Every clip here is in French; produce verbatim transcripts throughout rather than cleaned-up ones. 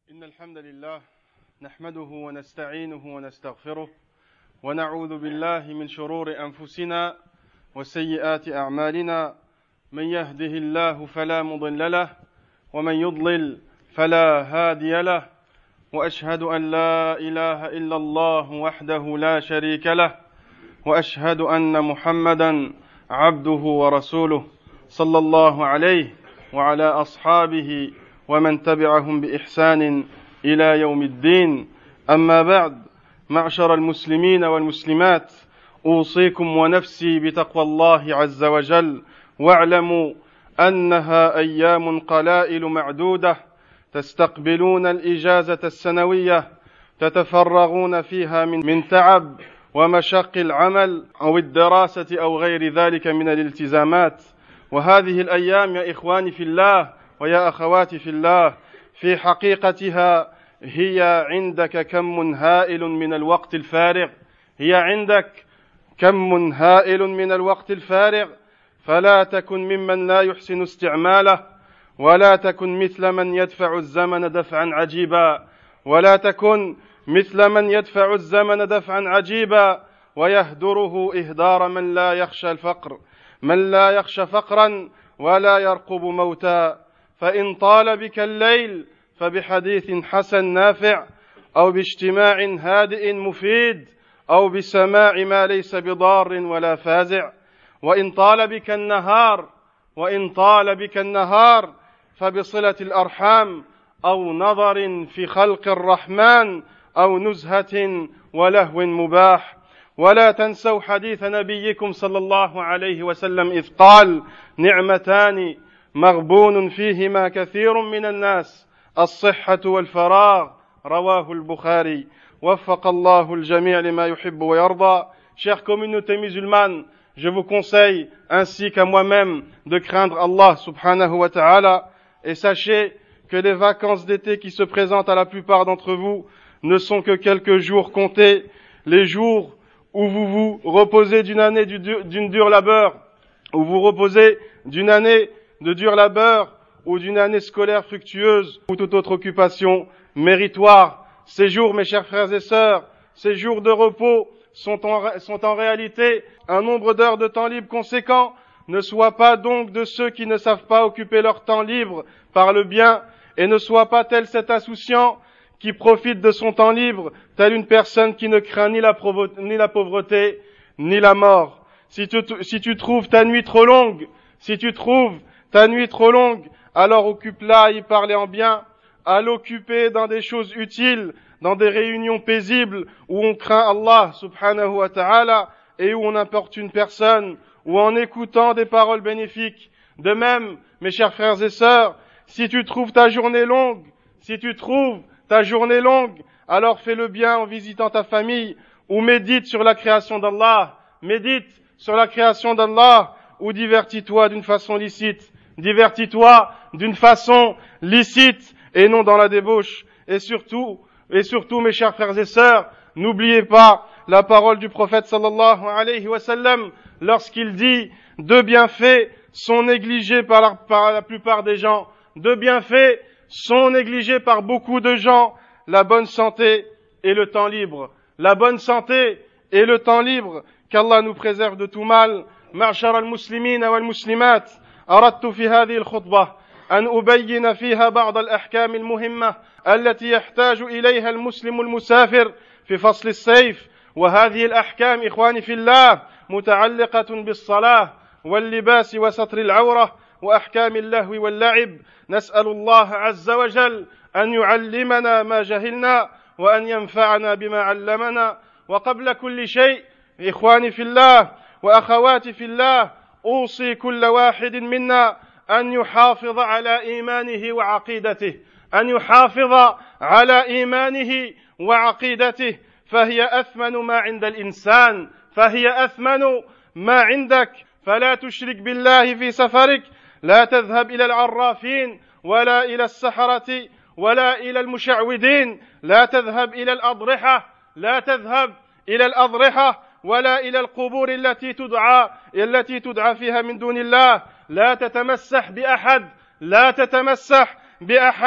إن الحمد لله نحمده ونستعينه ونستغفره ونعوذ بالله من شرور أنفسنا وسيئات أعمالنا من يهده الله فلا مضل له ومن يضلل فلا هادي له وأشهد أن لا إله إلا الله وحده لا شريك له وأشهد أن محمدا عبده ورسوله صلى الله عليه وعلى أصحابه ومن تبعهم بإحسان إلى يوم الدين. أما بعد، معشر المسلمين والمسلمات، أوصيكم ونفسي بتقوى الله عز وجل، واعلموا أنها أيام قلائل معدودة تستقبلون الإجازة السنوية تتفرغون فيها من, من تعب ومشق العمل أو الدراسة أو غير ذلك من الالتزامات. وهذه الأيام يا إخواني في الله ويا أخواتي في الله في حقيقتها هي عندك كم هائل من الوقت الفارغ هي عندك كم هائل من الوقت الفارغ فلا تكن ممن لا يحسن استعماله، ولا تكن مثل من يدفع الزمن دفعا عجيبا ولا تكن مثل من يدفع الزمن دفعا عجيبا ويهدره إهدار من لا يخشى الفقر من لا يخشى فقرا ولا يرقب موتا. فإن طال بك الليل فبحديث حسن نافع، أو باجتماع هادئ مفيد، أو بسماع ما ليس بضار ولا فازع. وإن طال بك النهار وإن طال بك النهار فبصلة الأرحام، أو نظر في خلق الرحمن، أو نزهة ولهو مباح. ولا تنسوا حديث نبيكم صلى الله عليه وسلم إذ قال: نعمتان مغبون فيهما كثير من الناس، الصحة والفراغ، رواه البخاري. وفق الله الجميع لما يحب ويرضى. Chère communauté musulmane, je vous conseille, ainsi qu'à moi-même, de craindre Allah subhanahu wa ta'ala, et sachez que les vacances d'été qui se présentent à la plupart d'entre vous ne sont que quelques jours comptés, les jours où vous vous reposez d'une année d'une dure labeur, où vous reposez d'une année de dur labeur, ou d'une année scolaire fructueuse, ou toute autre occupation méritoire. Ces jours, mes chers frères et sœurs, ces jours de repos sont en, sont en réalité un nombre d'heures de temps libre conséquent. Ne sois pas donc de ceux qui ne savent pas occuper leur temps libre par le bien, et ne sois pas tel cet insouciant qui profite de son temps libre, tel une personne qui ne craint ni la, ni la pauvreté, ni la mort. Si tu, si tu trouves ta nuit trop longue, si tu trouves ta nuit trop longue, alors occupe-la à y parler en bien, à l'occuper dans des choses utiles, dans des réunions paisibles où on craint Allah subhanahu wa ta'ala et où on importune personne, ou en écoutant des paroles bénéfiques. De même, mes chers frères et sœurs, si tu trouves ta journée longue, si tu trouves ta journée longue, alors fais le bien en visitant ta famille, ou médite sur la création d'Allah, médite sur la création d'Allah, ou divertis-toi d'une façon licite, divertis-toi d'une façon licite et non dans la débauche. Et surtout, et surtout, mes chers frères et sœurs, n'oubliez pas la parole du prophète sallallahu alayhi wa sallam lorsqu'il dit: deux bienfaits sont négligés par la, par la plupart des gens. Deux bienfaits sont négligés par beaucoup de gens: la bonne santé et le temps libre. La bonne santé et le temps libre. Qu'Allah nous préserve de tout mal. معشر المسلمين والمسلمات، أردت في هذه الخطبة أن أبين فيها بعض الأحكام المهمة التي يحتاج إليها المسلم المسافر في فصل الصيف. وهذه الأحكام إخواني في الله متعلقة بالصلاة واللباس وستر العورة وأحكام اللهو واللعب. نسأل الله عز وجل أن يعلمنا ما جهلنا وأن ينفعنا بما علمنا. وقبل كل شيء إخواني في الله وأخواتي في الله، أوصي كل واحد منا أن يحافظ على إيمانه وعقيدته أن يحافظ على إيمانه وعقيدته فهي أثمن ما عند الإنسان فهي أثمن ما عندك. فلا تشرك بالله في سفرك، لا تذهب إلى العرافين ولا إلى السحرة ولا إلى المشعوذين، لا تذهب إلى الأضرحة لا تذهب إلى الأضرحة ولا إلى القبور التي تدعى التي تدعى فيها من دون الله. لا تتمسح بأحد لا تتمسح بأحد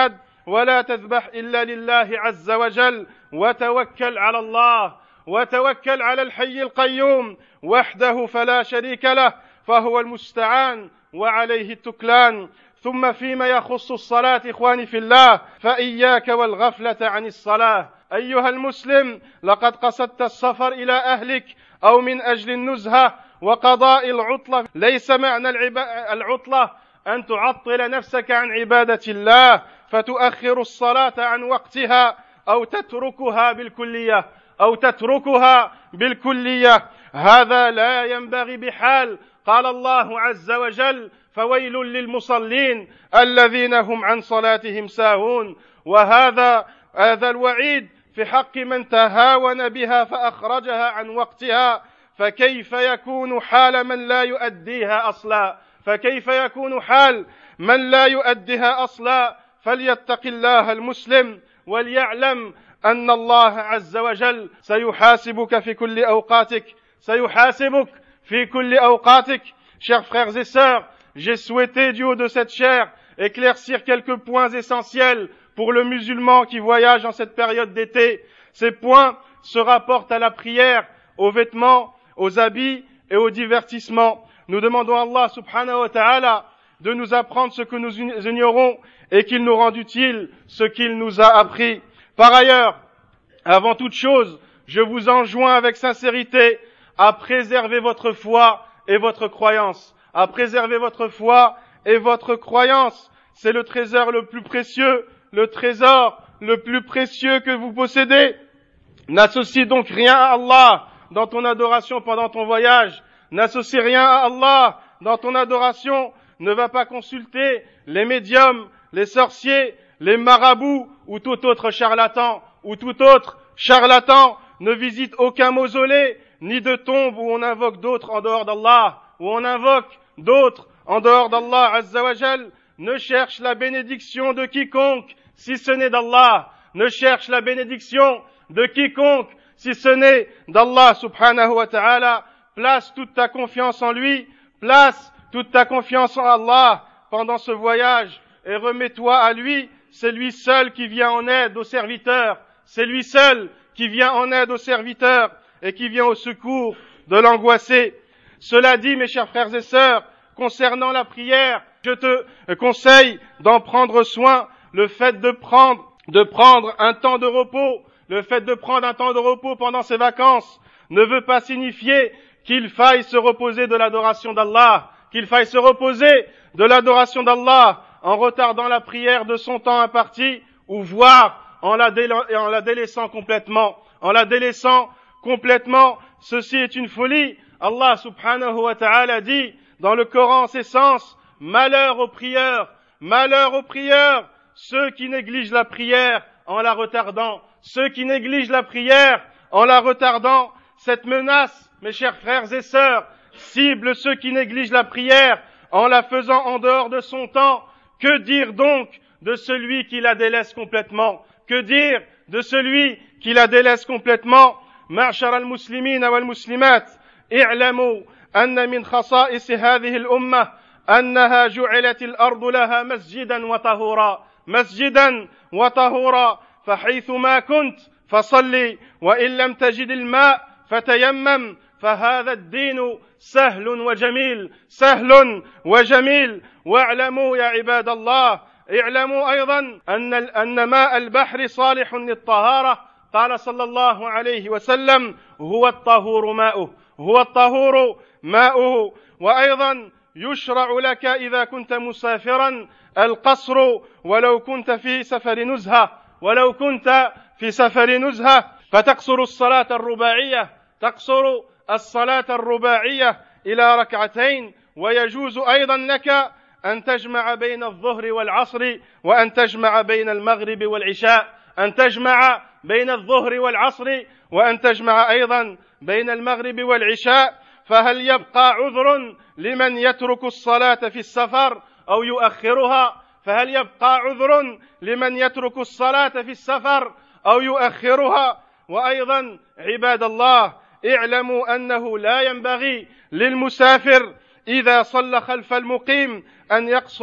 ولا تذبح إلا لله عز وجل وتوكل على الله وتوكل على الحي القيوم وحده فلا شريك له فهو المستعان وعليه التكلان. ثم فيما يخص الصلاة إخواني في الله فإياك والغفلة عن الصلاة. أيها المسلم لقد قصدت السفر إلى أهلك أو من أجل النزهة وقضاء العطلة. ليس معنى العطلة أن تعطل نفسك عن عبادة الله فتؤخر الصلاة عن وقتها أو تتركها بالكلية أو تتركها بالكلية هذا لا ينبغي بحال. قال الله عز وجل فويل للمصلين الذين هم عن صلاتهم ساهون. وهذا هذا الوعيد في حق من تهاون بها فأخرجها عن وقتها. فكيف يكون حال من لا يؤديها أصلا فكيف يكون حال من لا يؤديها أصلا فليتق الله المسلم وليعلم أن الله عز وجل سيحاسبك في كل أوقاتك سيحاسبك في كل أوقاتك. Chers frères et sœurs, j'ai souhaité du haut de cette chaire éclaircir quelques points essentiels pour le musulman qui voyage en cette période d'été. Ces points se rapportent à la prière, aux vêtements, aux habits et au divertissement. Nous demandons à Allah subhanahu wa ta'ala de nous apprendre ce que nous ignorons et qu'il nous rende utile ce qu'il nous a appris. Par ailleurs, avant toute chose, je vous enjoins avec sincérité à préserver votre foi et votre croyance. À préserver votre foi et votre croyance. C'est le trésor le plus précieux, le trésor le plus précieux que vous possédez. N'associe donc rien à Allah dans ton adoration pendant ton voyage. N'associe rien à Allah dans ton adoration. Ne va pas consulter les médiums, les sorciers, les marabouts ou tout autre charlatan ou tout autre charlatan. Ne visite aucun mausolée ni de tombe où on invoque d'autres en dehors d'Allah, où on invoque d'autres en dehors d'Allah Azza wa Jal. Ne cherche la bénédiction de quiconque si ce n'est d'Allah. Ne cherche la bénédiction de quiconque si ce n'est d'Allah subhanahu wa ta'ala. Place toute ta confiance en lui, place toute ta confiance en Allah pendant ce voyage et remets-toi à lui. C'est lui seul qui vient en aide aux serviteurs. C'est lui seul qui vient en aide aux serviteurs et qui vient au secours de l'angoissé. Cela dit, mes chers frères et sœurs, concernant la prière, je te conseille d'en prendre soin. Le fait de prendre, de prendre un temps de repos, le fait de prendre un temps de repos pendant ses vacances ne veut pas signifier qu'il faille se reposer de l'adoration d'Allah, qu'il faille se reposer de l'adoration d'Allah en retardant la prière de son temps imparti ou voire en la, déla- en la délaissant complètement. En la délaissant complètement, ceci est une folie. Allah subhanahu wa ta'ala dit dans le Coran en ces sens, malheur aux prieurs, malheur aux prieurs, ceux qui négligent la prière en la retardant, ceux qui négligent la prière en la retardant. Cette menace, mes chers frères et sœurs, cible ceux qui négligent la prière en la faisant en dehors de son temps. Que dire donc de celui qui la délaisse complètement? Que dire de celui qui la délaisse complètement? معشر المسلمين والمسلمات اعلموا أن من خصائص هذه الأمة أنها جعلت الأرض لها مسجدا وطهورا مسجدا وطهورا فحيثما كنت فصلي وإن لم تجد الماء فتيمم فهذا الدين سهل وجميل سهل وجميل. واعلموا يا عباد الله اعلموا أيضا أن أن ماء البحر صالح للطهارة. قال صلى الله عليه وسلم هو الطهور ماؤه هو الطهور ماؤه. وأيضا يشرع لك إذا كنت مسافرا القصر ولو كنت في سفر نزهة ولو كنت في سفر نزهة فتقصر الصلاة الرباعية تقصر الصلاة الرباعية إلى ركعتين. ويجوز أيضا لك أن تجمع بين الظهر والعصر وأن تجمع بين المغرب والعشاء أن تجمع بين الظهر والعصر وأن تجمع أيضا بين المغرب والعشاء. فهل يبقى عذر لمن يترك الصلاة في السفر أو يؤخرها؟ فهل يبقى عذر لمن يترك الصلاة في السفر أو يؤخرها؟ وأيضا عباد الله اعلموا أنه لا ينبغي للمسافر إذا صلى خلف المقيم أن يقصر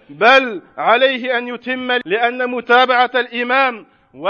بل عليه أن يتم لأن متابعة الإمام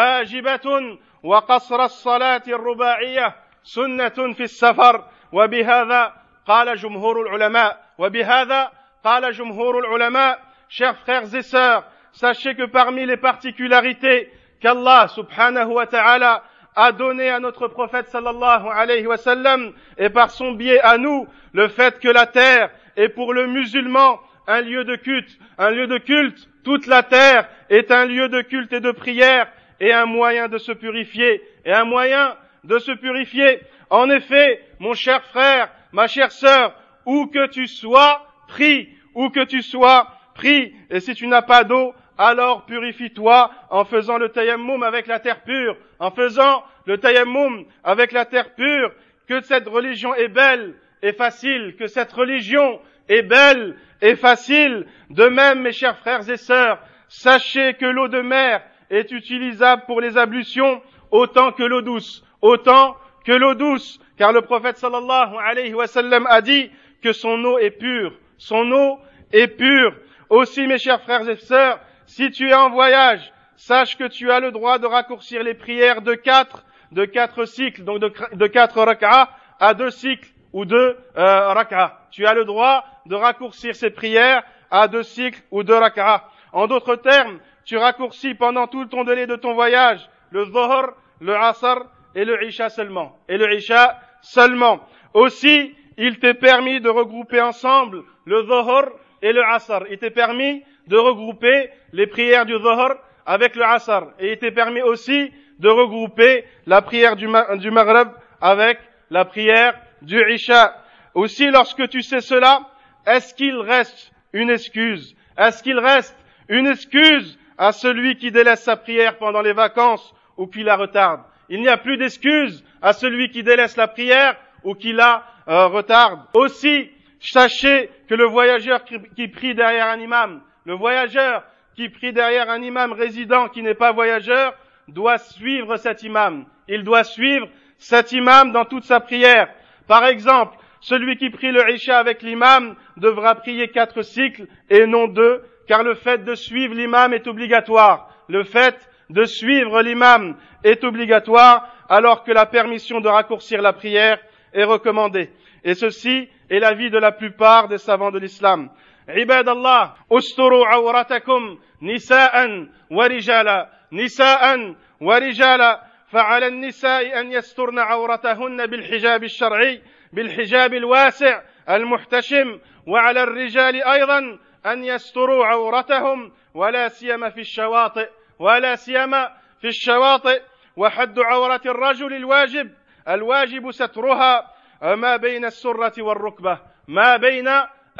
واجبة وقصر الصلاة الرباعية سنة في السفر وبهذا قال جمهور العلماء وبهذا قال جمهور العلماء. Chers frères et sœurs, sachez que parmi les particularités qu'Allah subhanahu wa ta'ala a donné à notre prophète sallallahu alayhi wa sallam et par son biais à nous, le fait que la terre est pour le musulman un lieu de culte, un lieu de culte, toute la terre est un lieu de culte et de prière et un moyen de se purifier, et un moyen de se purifier. En effet, mon cher frère, ma chère sœur, où que tu sois, prie, où que tu sois, prie, et si tu n'as pas d'eau, alors purifie-toi en faisant le tayammum avec la terre pure, en faisant le tayammum avec la terre pure, que cette religion est belle et facile, que cette religion est belle et facile. De même, mes chers frères et sœurs, sachez que l'eau de mer est utilisable pour les ablutions autant que l'eau douce, autant que l'eau douce, car le prophète sallallahu alayhi wa sallam a dit que son eau est pure, son eau est pure. Aussi, mes chers frères et sœurs, si tu es en voyage, sache que tu as le droit de raccourcir les prières de quatre, de quatre cycles, donc de, de quatre rak'ah à deux cycles ou deux euh, rak'ah. Tu as le droit de raccourcir ces prières à deux cycles ou deux rak'ah. En d'autres termes, tu raccourcis pendant tout le temps délai de ton voyage le dhuhr, le asr et le isha seulement. Et le isha seulement. Aussi, il t'est permis de regrouper ensemble le dhuhr et le asr. Il t'est permis de regrouper les prières du dhuhr avec le asr. Et il t'est permis aussi de regrouper la prière du, ma- du maghrib avec la prière du isha. Aussi, lorsque tu sais cela, est-ce qu'il reste une excuse? Est-ce qu'il reste une excuse à celui qui délaisse sa prière pendant les vacances ou qui la retarde? Il n'y a plus d'excuse à celui qui délaisse la prière ou qui la euh, retarde. Aussi, sachez que le voyageur qui, qui prie derrière un imam, le voyageur qui prie derrière un imam résident qui n'est pas voyageur, doit suivre cet imam. Il doit suivre cet imam dans toute sa prière. Par exemple, celui qui prie le isha avec l'imam devra prier quatre cycles et non deux, car le fait de suivre l'imam est obligatoire. Le fait de suivre l'imam est obligatoire, alors que la permission de raccourcir la prière est recommandée. Et ceci est l'avis de la plupart des savants de l'islam. عباد الله استروا عورتكم نساء ورجالا نساء ورجالا فعلى النساء أن يسترن عورتهن بالحجاب الشرعي بالحجاب الواسع المحتشم وعلى الرجال أيضا أن يستروا عورتهم ولا سيما في الشواطئ ولا سيما في الشواطئ وحد عورة الرجل الواجب الواجب سترها ما بين السرة والركبة ما بين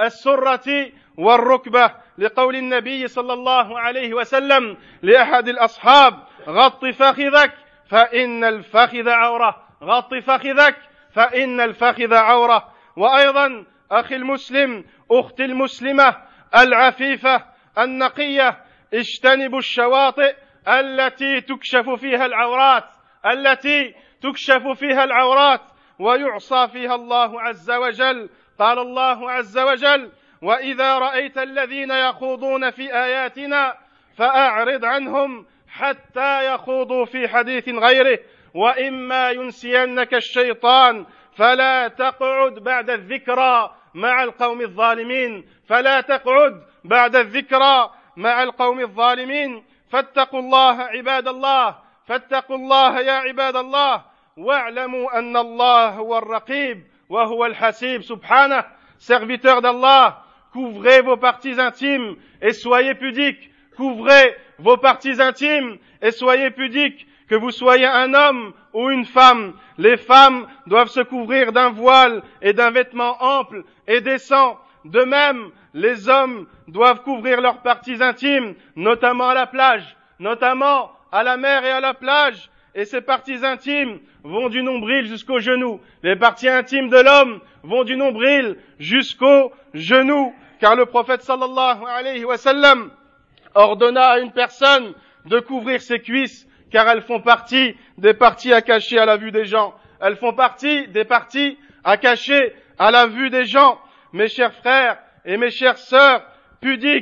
السرة والركبة لقول النبي صلى الله عليه وسلم لأحد الأصحاب غط فخذك فإن الفخذ عورة غط فخذك فإن الفخذ عورة. وأيضا أخي المسلم أختي المسلمة العفيفة النقية اجتنبوا الشواطئ التي تكشف فيها العورات التي تكشف فيها العورات ويعصى فيها الله عز وجل. قال الله عز وجل وإذا رأيت الذين يخوضون في آياتنا فأعرض عنهم حتى يخوضوا في حديث غيره وإما ينسينك الشيطان فلا تقعد بعد الذكرى مع القوم الظالمين فلا تقعد بعد الذكرى مع القوم الظالمين. فاتقوا الله عباد الله فاتقوا الله يا عباد الله واعلموا أن الله هو الرقيب وهو الحسيب سبحانه. Serviteurs d'Allah, couvrez vos parties intimes et soyez pudiques. Couvrez vos parties intimes et soyez pudiques. Que vous soyez un homme ou une femme, les femmes doivent se couvrir d'un voile et d'un vêtement ample et décent. De même, les hommes doivent couvrir leurs parties intimes, notamment à la plage, notamment à la mer et à la plage. Et ces parties intimes vont du nombril jusqu'aux genoux. Les parties intimes de l'homme vont du nombril jusqu'aux genoux. Car le prophète sallallahu alayhi wa sallam ordonna à une personne de couvrir ses cuisses, car elles font partie des parties à cacher à la vue des gens. Elles font partie des parties à cacher à la vue des gens. Mes chers frères et mes chères sœurs, pudiques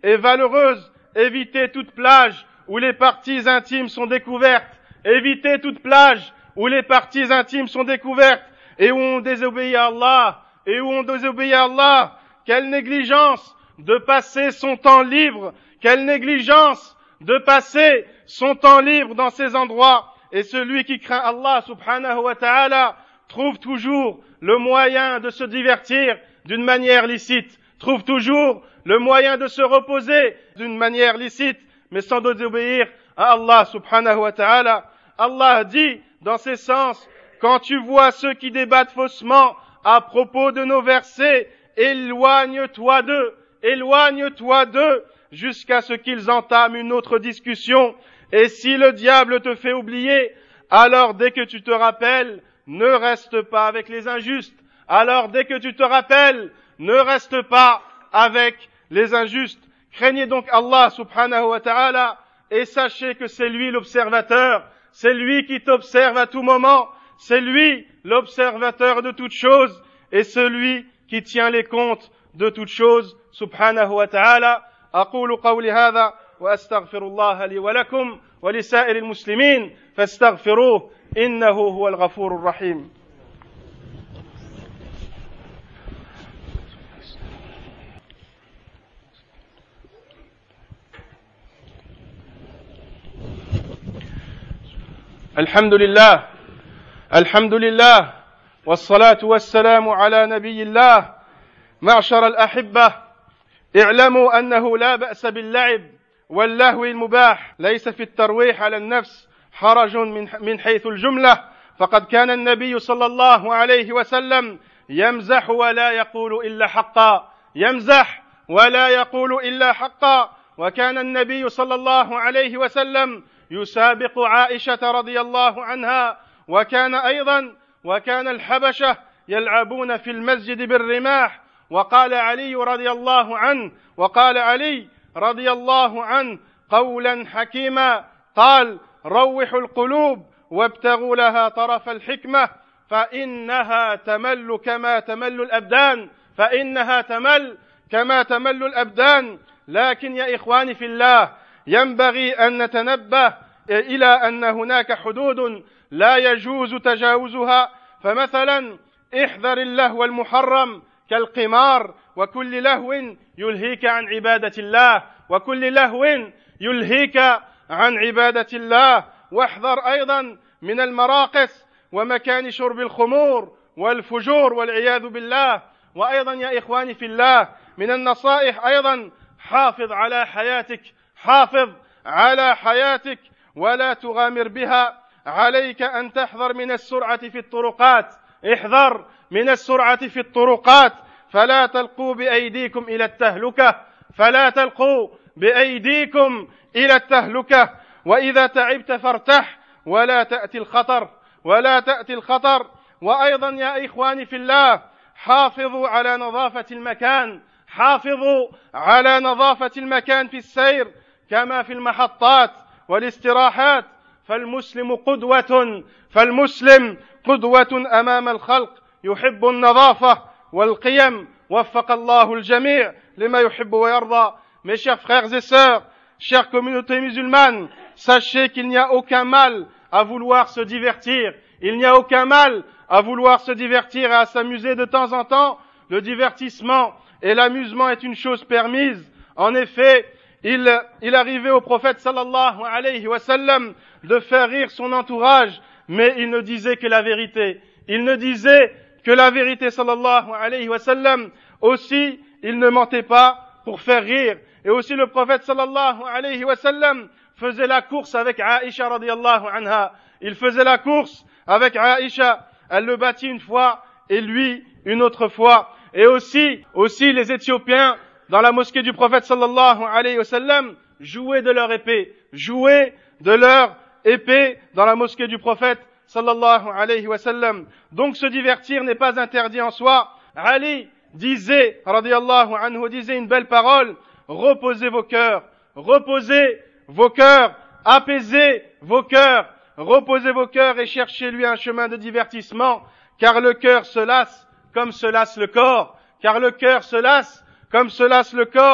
et valeureuse. Évitez toute plage où les parties intimes sont découvertes. Évitez toute plage où les parties intimes sont découvertes et où on désobéit à Allah. Et où on désobéit à Allah. Quelle négligence de passer son temps libre. Quelle négligence de passer son temps libre dans ces endroits. Et celui qui craint Allah subhanahu wa ta'ala trouve toujours le moyen de se divertir d'une manière licite, trouve toujours le moyen de se reposer d'une manière licite, mais sans désobéir à Allah subhanahu wa ta'ala. Allah dit dans ces sens, quand tu vois ceux qui débattent faussement à propos de nos versets, éloigne-toi d'eux, éloigne-toi d'eux, jusqu'à ce qu'ils entament une autre discussion. Et si le diable te fait oublier, alors dès que tu te rappelles, ne reste pas avec les injustes. Alors dès que tu te rappelles, ne reste pas avec les injustes. Craignez donc Allah subhanahu wa ta'ala et sachez que c'est lui l'observateur, c'est lui qui t'observe à tout moment, c'est lui l'observateur de toutes choses et celui qui tient les comptes de toutes choses subhanahu wa ta'ala. أقول قولي هذا وأستغفر الله لي ولكم ولسائر المسلمين فاستغفروه إنه هو الغفور الرحيم. الحمد لله الحمد لله والصلاة والسلام على نبي الله. معشر الأحبة، اعلموا أنه لا بأس باللعب واللهو المباح، ليس في الترويح على النفس حرج من حيث الجملة، فقد كان النبي صلى الله عليه وسلم يمزح ولا يقول إلا حقا، يمزح ولا يقول إلا حقا. وكان النبي صلى الله عليه وسلم يسابق عائشة رضي الله عنها، وكان أيضا وكان الحبشة يلعبون في المسجد بالرماح. وقال علي رضي الله عنه وقال علي رضي الله عنه قولا حكيما، قال: روحوا القلوب وابتغوا لها طرف الحكمة فإنها تمل كما تمل الأبدان، فإنها تمل كما تمل الأبدان. لكن يا إخواني في الله، ينبغي أن نتنبه إلى أن هناك حدود لا يجوز تجاوزها. فمثلا احذر اللهو المحرم كالقمار وكل لهو يلهيك عن عبادة الله، وكل لهو يلهيك عن عبادة الله. واحذر أيضا من المراقص ومكان شرب الخمور والفجور والعياذ بالله. وأيضا يا إخواني في الله، من النصائح أيضا حافظ على حياتك، حافظ على حياتك ولا تغامر بها. عليك أن تحذر من السرعة في الطرقات، احذر من السرعة في الطرقات، فلا تلقوا بأيديكم إلى التهلكة، فلا تلقوا بأيديكم إلى التهلكة. وإذا تعبت فارتح ولا تأتي الخطر، ولا تأتي الخطر. وأيضا يا إخواني في الله، حافظوا على نظافة المكان، حافظوا على نظافة المكان في السير كما في المحطات والاستراحات. فالمسلم قدوة، فالمسلم قدوة أمام الخلق، يحب النظافة والقيم. وفق الله الجميع لما يحب ويرضى. Mes chers frères et sœurs, chère communauté musulmane, sachez qu'il n'y a aucun mal à vouloir se divertir. Il n'y a aucun mal à vouloir se divertir et à s'amuser de temps en temps. Le divertissement et l'amusement est une chose permise. En effet, il, il arrivait au prophète sallallahu alayhi wa sallam de faire rire son entourage, mais il ne disait que la vérité. Il ne disait que la vérité sallallahu alayhi wa sallam. Aussi, il ne mentait pas pour faire rire. Et aussi le prophète sallallahu alayhi wa sallam faisait la course avec Aïcha radiyallahu anha. Il faisait la course avec Aïcha. Elle le battit une fois et lui une autre fois. Et aussi, aussi les Éthiopiens dans la mosquée du prophète sallallahu alayhi wa sallam jouaient de leur épée, jouaient de leur épée dans la mosquée du prophète sallallahu alayhi wa sallam. Donc se divertir n'est pas interdit en soi. Ali disait, radiyallahu anhu, disait une belle parole: reposez vos cœurs, reposez vos cœurs, apaisez vos cœurs, reposez vos cœurs et cherchez-lui un chemin de divertissement, car le cœur se lasse comme se lasse le corps, car le cœur se lasse comme se lasse le corps.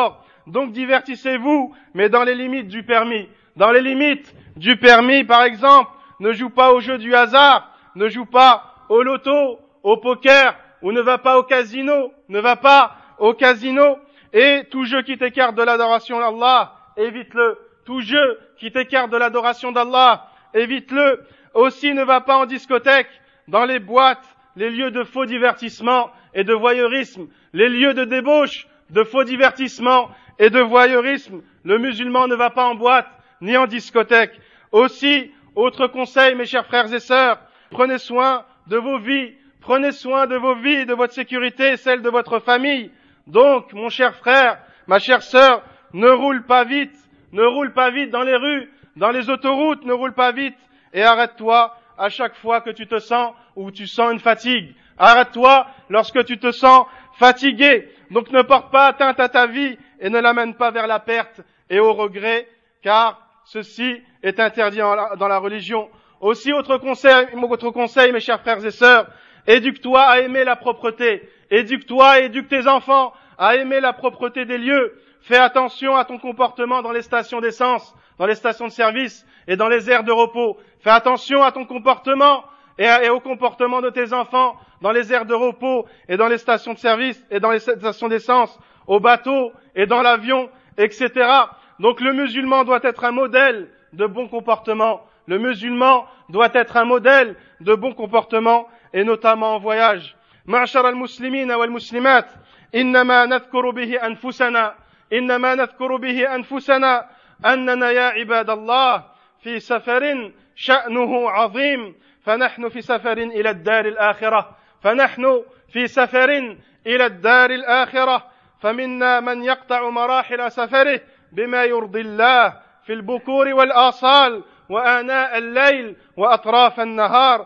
Donc divertissez-vous, mais dans les limites du permis. Dans les limites du permis, par exemple, ne joue pas au jeu du hasard, ne joue pas au loto, au poker, ou ne va pas au casino, ne va pas au casino. Et tout jeu qui t'écarte de l'adoration d'Allah, évite-le. Tout jeu qui t'écarte de l'adoration d'Allah, évite-le. Aussi, ne va pas en discothèque, dans les boîtes, les lieux de faux divertissement et de voyeurisme, les lieux de débauche, de faux divertissement et de voyeurisme. Le musulman ne va pas en boîte, ni en discothèque. Aussi, autre conseil, mes chers frères et sœurs, prenez soin de vos vies, prenez soin de vos vies, de votre sécurité et celle de votre famille. Donc, mon cher frère, ma chère sœur, ne roule pas vite, ne roule pas vite dans les rues, dans les autoroutes, ne roule pas vite et arrête-toi à chaque fois que tu te sens ou tu sens une fatigue. Arrête-toi lorsque tu te sens fatigué. Donc ne porte pas atteinte à ta vie et ne l'amène pas vers la perte et au regret, car ceci est interdit dans la religion. Aussi, autre conseil, autre conseil, mes chers frères et sœurs, éduque-toi à aimer la propreté. Éduque-toi et éduque tes enfants à aimer la propreté des lieux. Fais attention à ton comportement dans les stations d'essence, dans les stations de service et dans les aires de repos. Fais attention à ton comportement et, à, et au comportement de tes enfants dans les aires de repos et dans les stations de service et dans les stations d'essence, au bateau et dans l'avion, et cetera. Donc le musulman doit être un modèle de bon comportement. Le musulman doit être un modèle de bon comportement et notamment en voyage. معشر المسلمين والمسلمات إنما نذكر به أنفسنا إنما نذكر به أنفسنا أننا يا عباد الله في سفر شأنه عظيم فنحن في سفر إلى الدار الآخرة فنحن في سفر إلى الدار الآخرة فمنا من يقطع مراحل سفره بما يرضي الله في البكور والآصال وآناء الليل وأطراف النهار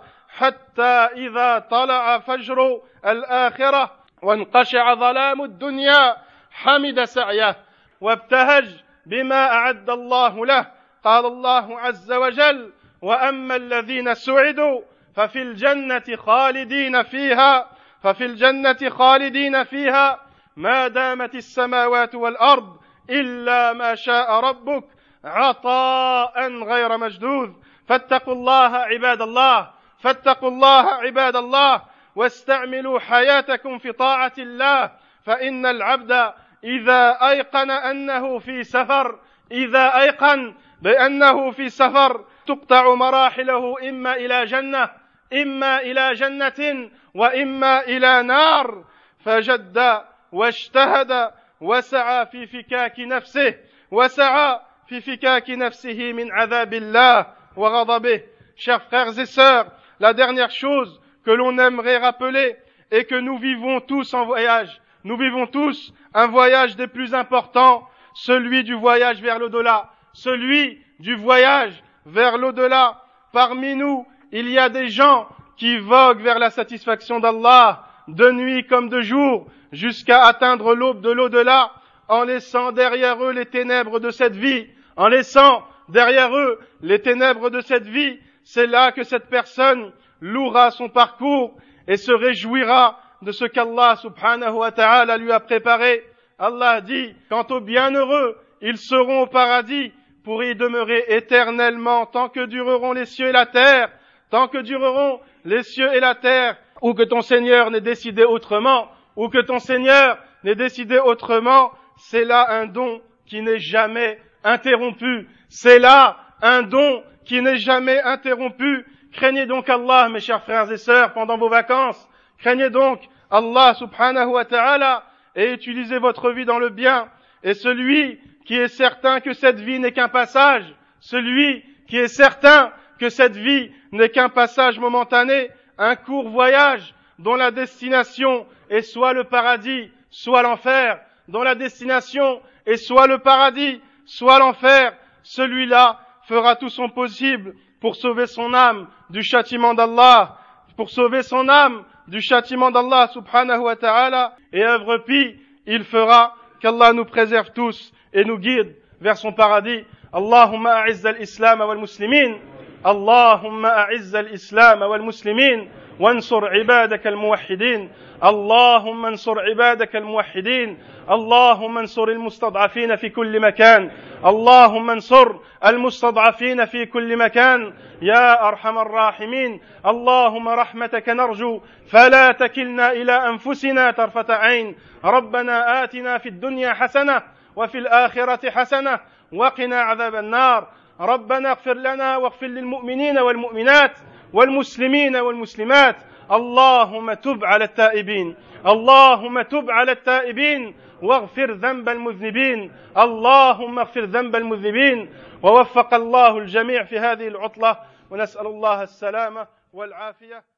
حتى إذا طلع فجر الآخرة وانقشع ظلام الدنيا حمد سعيه وابتهج بما أعد الله له. قال الله عز وجل وأما الذين سعدوا ففي الجنة خالدين فيها ففي الجنة خالدين فيها ما دامت السماوات والأرض إلا ما شاء ربك عطاء غير مجدود. فاتقوا الله عباد الله فاتقوا الله عباد الله واستعملوا حياتكم في طاعة الله فإن العبد إذا أيقن أنه في سفر إذا أيقن بأنه في سفر تقطع مراحله إما إلى جنة إما إلى جنة وإما إلى نار فجد واجتهد وسعى في فكاك نفسه وسعى في فكاك نفسه من عذاب الله وغضبه. Chers frères et sœurs, la dernière chose que l'on aimerait rappeler est que nous vivons tous en voyage. Nous vivons tous un voyage des plus importants, celui du voyage vers l'au-delà, celui du voyage vers l'au-delà. Parmi nous, il y a des gens qui voguent vers la satisfaction d'Allah, de nuit comme de jour, jusqu'à atteindre l'aube de l'au-delà, en laissant derrière eux les ténèbres de cette vie, en laissant derrière eux les ténèbres de cette vie. C'est là que cette personne louera son parcours et se réjouira de ce qu'Allah subhanahu wa ta'ala lui a préparé. Allah dit, quant aux bienheureux, ils seront au paradis pour y demeurer éternellement tant que dureront les cieux et la terre, tant que dureront les cieux et la terre, ou que ton Seigneur n'ait décidé autrement, ou que ton Seigneur n'ait décidé autrement. C'est là un don qui n'est jamais interrompu. C'est là un don qui n'est jamais interrompu. Craignez donc Allah, mes chers frères et sœurs, pendant vos vacances. Craignez donc Allah subhanahu wa ta'ala et utilisez votre vie dans le bien. Et celui qui est certain que cette vie n'est qu'un passage, celui qui est certain que cette vie n'est qu'un passage momentané, un court voyage dont la destination est soit le paradis, soit l'enfer, dont la destination est soit le paradis, soit l'enfer, celui-là fera tout son possible pour sauver son âme du châtiment d'Allah, pour sauver son âme du châtiment d'Allah subhanahu wa ta'ala, et œuvre pie, il fera qu'Allah nous préserve tous et nous guide vers son paradis. Allahumma a'izz al-islam wal muslimin, Allahumma a'izz al-islam wal muslimin, وانصر عبادك الموحدين. اللهم انصر عبادك الموحدين. اللهم انصر المستضعفين في كل مكان. اللهم انصر المستضعفين في كل مكان يا أرحم الراحمين. اللهم رحمتك نرجو فلا تكلنا إلى أنفسنا طرفة عين. ربنا آتنا في الدنيا حسنة وفي الآخرة حسنة وقنا عذاب النار. ربنا اغفر لنا واغفر للمؤمنين والمؤمنات والمسلمين والمسلمات. اللهم تب على التائبين. اللهم تب على التائبين واغفر ذنب المذنبين. اللهم اغفر ذنب المذنبين. ووفق الله الجميع في هذه العطلة، ونسأل الله السلامة والعافية.